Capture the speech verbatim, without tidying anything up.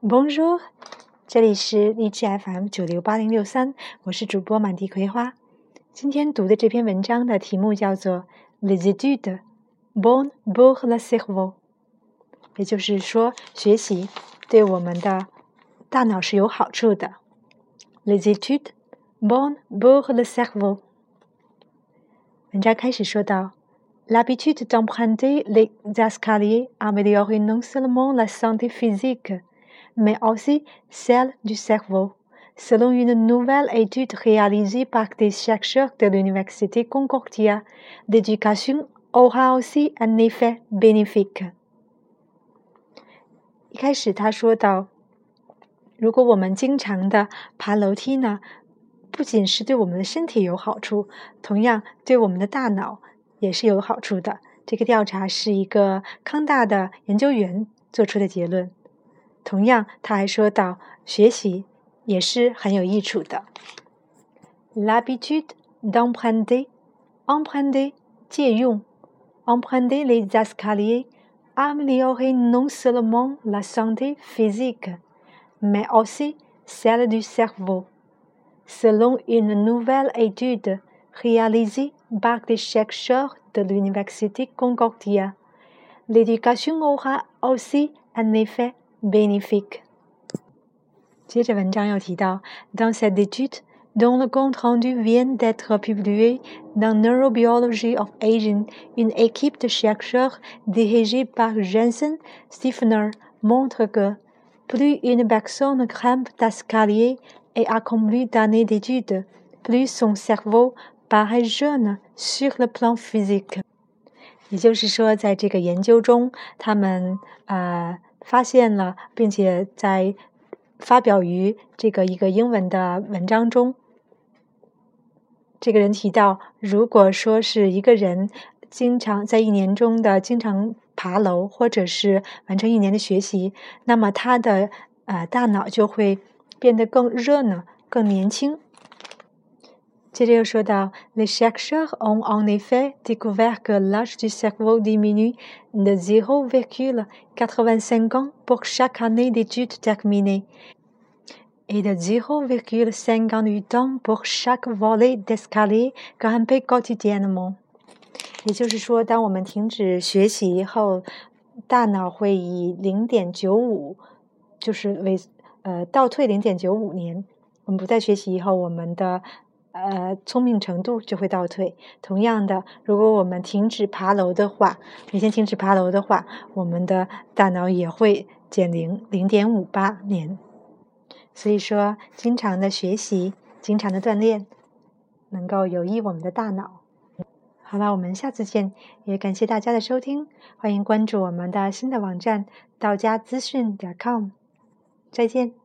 Bonjour， 这里是荔枝 F M 九六八零六三，我是主播满地葵花。今天读的这篇文章的题目叫做 Les études bonnes pour le cerveau， 也就是说学习对我们的大脑是有好处的。Les études bonnes pour le cerveau。 文章开始说到 L'habitude d'emprunter les escaliers améliore non seulement la santé physique, mais aussi celle du cerveau. Selon une nouvelle étude réalisée par des chercheurs de l'Université Concordia, l'éducation aura aussi un effet bénéfique. 一开始他说到，如果我们经常的爬楼梯呢，不仅是对我们的身体有好处，同样对我们的大脑也是有好处的。这个调查是一个康大的研究员做出的结论。同样，他还说到，学习也是很有益处的。L'habitude d'emprunter, emprunter 借用 emprunter les escaliers améliore non seulement la santé physique, mais aussi celle du cerveau. Selon une nouvelle étude réalisée par des chercheurs de l'Université Concordia, l'éducation aura aussi un effet bénéfique. 接着文章又提到 Dans cette étude, dont le compte rendu vient d'être publié dans Neurobiology of Aging, une équipe de chercheurs dirigée par Jensen Stiefner montre que plus une personne grimpe d'escalier et accomplit d'années d'études, plus son cerveau paraît jeune sur le plan physique. 也就是说，在这个研究中，他们呃发现了，并且在发表于这个一个英文的文章中，这个人提到，如果说是一个人经常在一年中的经常爬楼，或者是完成一年的学习，那么他的呃大脑就会变得更热闹、更年轻。接着又说到 Les chercheurs ont en effet découvert que l'âge du cerveau diminue de zéro virgule quatre-vingt-cinq ans pour chaque année d'études terminée et de zéro virgule cinquante-huit ans pour chaque volée d'escalier grimpé quotidiennement. 也就是说，当我们停止学习以后，大脑会以零点九五，就是为呃倒退零点九五年。我们不再学习以后，我们的呃，聪明程度就会倒退。同样的，如果我们停止爬楼的话，每天停止爬楼的话，我们的大脑也会减龄零点五八年。所以说，经常的学习，经常的锻炼，能够有益我们的大脑。好了，我们下次见，也感谢大家的收听，欢迎关注我们的新的网站道家资讯点 com， 再见。